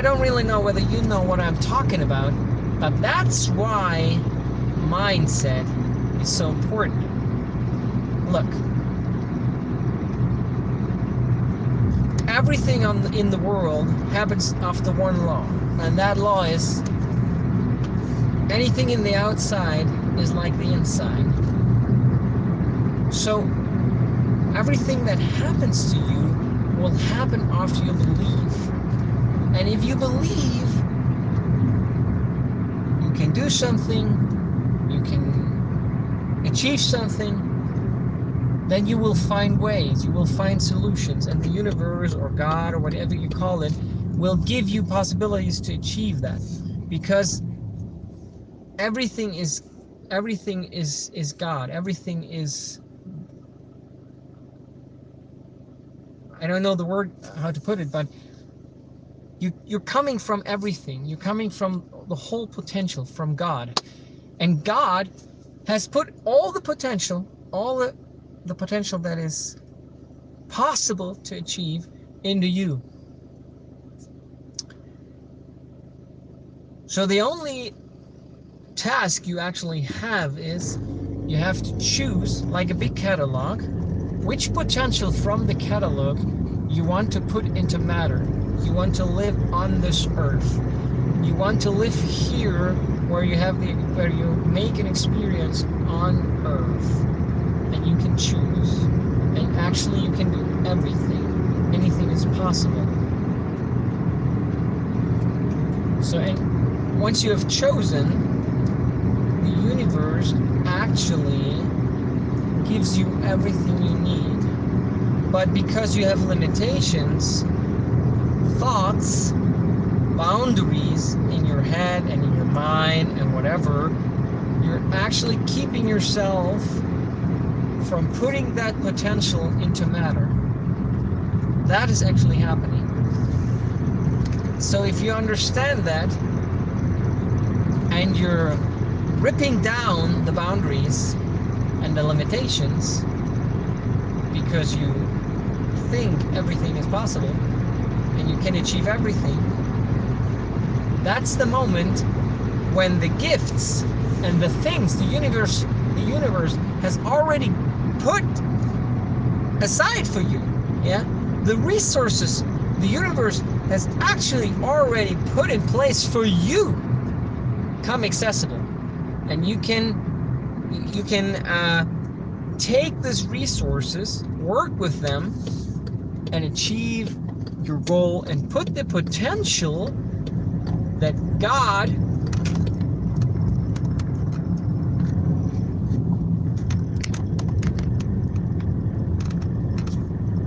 I don't really know whether you know what I'm talking about, but that's why mindset is so important. Look, everything in the world happens after one law, and that law is anything in the outside is like the inside. So everything that happens to you will happen after you believe. And if you believe you can do something, you can achieve something, then you will find ways, you will find solutions, and the universe or God or whatever you call it will give you possibilities to achieve that, because everything is God. Everything is, I don't know the word how to put it, but you're coming from everything. You're coming from the whole potential from God, and God has put all the potential, all the potential that is possible to achieve into you. So the only task you actually have is you have to choose, like a big catalog, which potential from the catalog you want to put into matter. You want to live on this earth. You want to live here where you make an experience on earth, and you can choose. And actually you can do everything. Anything is possible. So, and once you have chosen, the universe actually gives you everything you need. But because you have limitations, thoughts, boundaries in your head and in your mind and whatever, you're actually keeping yourself from putting that potential into matter. That is actually happening. So if you understand that, and you're ripping down the boundaries and the limitations because you think everything is possible and you can achieve everything, that's the moment when the gifts and the things the universe has already put aside for you, yeah, the resources the universe has actually already put in place for you, come accessible. And you can take these resources, work with them, and achieve your goal, and put the potential that God